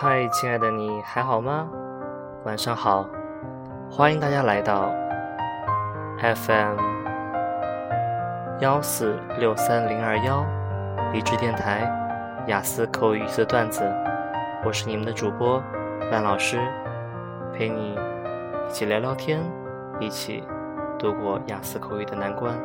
嗨，亲爱的你还好吗？晚上好，欢迎大家来到 FM 1463021励志电台雅思口语一次段子，我是你们的主播万老师，陪你一起聊聊天，一起度过雅思口语的难关。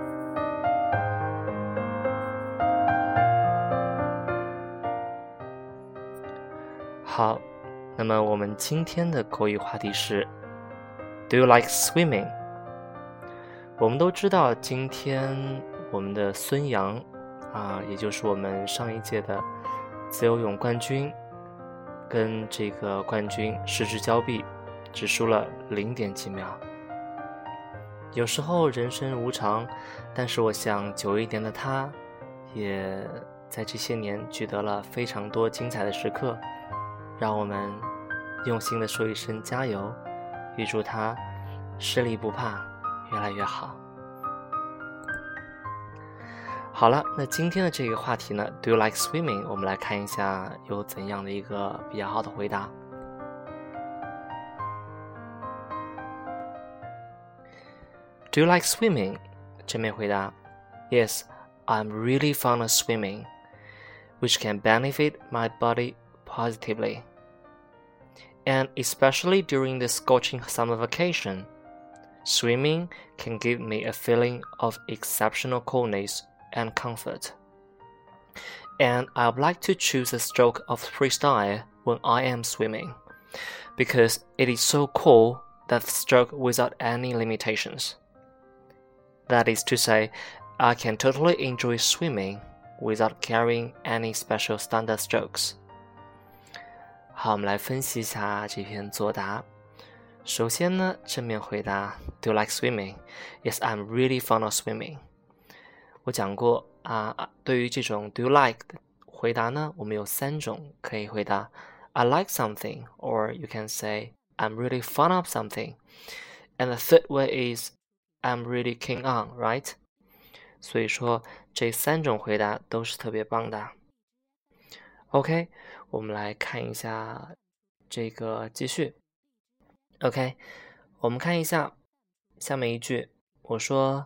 好，那么我们今天的口语话题是 Do you like swimming？ 我们都知道今天我们的孙杨也就是我们上一届的自由泳冠军，跟这个冠军失之交臂，只输了0.几秒。有时候人生无常，但是我想久一点的他也在这些年取得了非常多精彩的时刻，让我们用心的说一声加油，预祝他实力不怕，越来越好。好了，那今天的这个话题呢 Do you like swimming？ 我们来看一下有怎样的一个比较好的回答。Do you like swimming？ 正面回答 Yes, I'm really fond of swimming, which can benefit my body positively. And especially during the scorching summer vacation, swimming can give me a feeling of exceptional coolness and comfort. And I would like to choose a stroke of freestyle when I am swimming, because it is so cool that stroke without any limitations. That is to say, I can totally enjoy swimming without carrying any special standard strokes. 好，我们来分析一下这篇作答。首先呢，正面回答 Do you like swimming? Yes, I'm really fond of swimming. 我讲过对于这种 Do you like 的回答呢，我们有3种可以回答 I like something, or you can say I'm really fond of something. And the third way is I'm really keen on, right? 所以说这3种回答都是特别棒的。OK， 我们来看一下这个继续。OK， 我们看一下下面一句，我说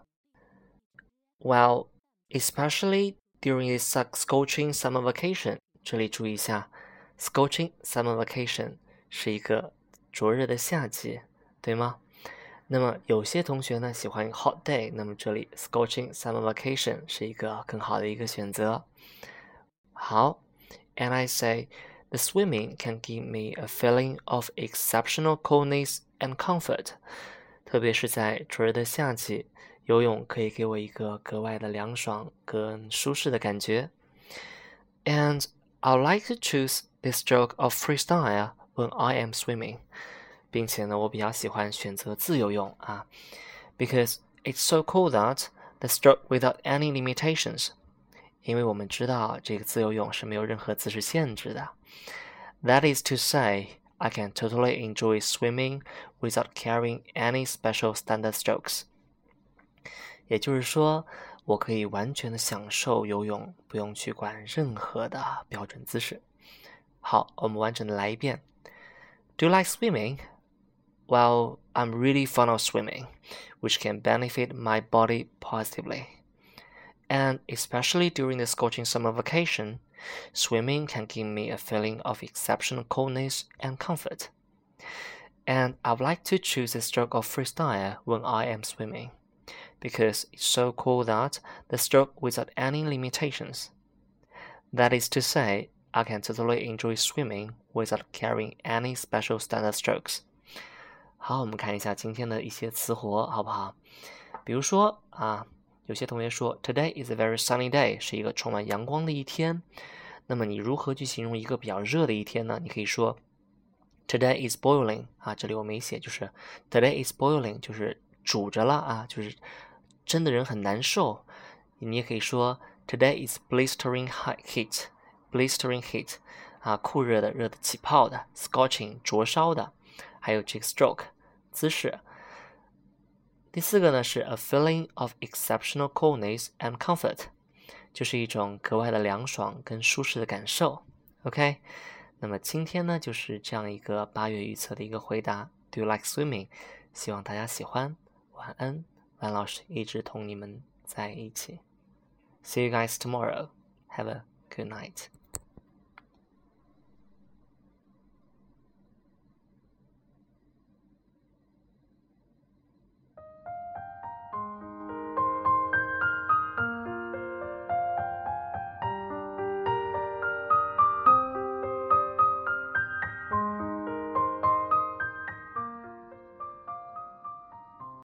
Well, especially during this scorching summer vacation， 这里注意一下 scorching summer vacation 是一个灼热的夏季，对吗？那么有些同学呢喜欢 hot day， 那么这里 scorching summer vacation 是一个更好的一个选择。好 And I say the swimming can give me a feeling of exceptional coolness and comfort. 特别是在灼热的夏季，游泳可以给我一个格外的凉爽跟舒适的感觉。And I like to choose the stroke of freestyle when I am swimming. 并且呢，我比较喜欢选择自由泳because it's so cool that the stroke without any limitations. 因为我们知道这个自由泳是没有任何姿势限制的。That is to say, I can totally enjoy swimming without carrying any special standard strokes. 也就是说，我可以完全的享受游泳，不用去管任何的标准姿势。好，我们完整的来一遍。Do you like swimming? Well, I'm really fond of swimming, which can benefit my body positively. And especially during the scorching summer vacation, swimming can give me a feeling of exceptional coolness and comfort. And I would like to choose a stroke of freestyle when I am swimming, because it's so cool that the stroke without any limitations. That is to say, I can totally enjoy swimming without carrying any special standard strokes. 好，我们看一下今天的一些词活，好不好？比如说有些同学说 Today is a very sunny day， 是一个充满阳光的一天。那么你如何去形容一个比较热的一天呢？你可以说 Today is boiling， 这里我没写，就是 Today is boiling， 就是煮着了就是真的人很难受。你也可以说 Today is blistering heat， blistering heat， 酷热的，热的起泡的 ，scorching 灼烧的，还有这个 stroke 姿势。第4个呢是 a feeling of exceptional coolness and comfort， 就是一种格外的凉爽跟舒适的感受。OK， 那么今天呢，就是这样一个8月预测的一个回答。Do you like swimming？ 希望大家喜欢。晚安，晚老师一直同你们在一起。See you guys tomorrow. Have a good night.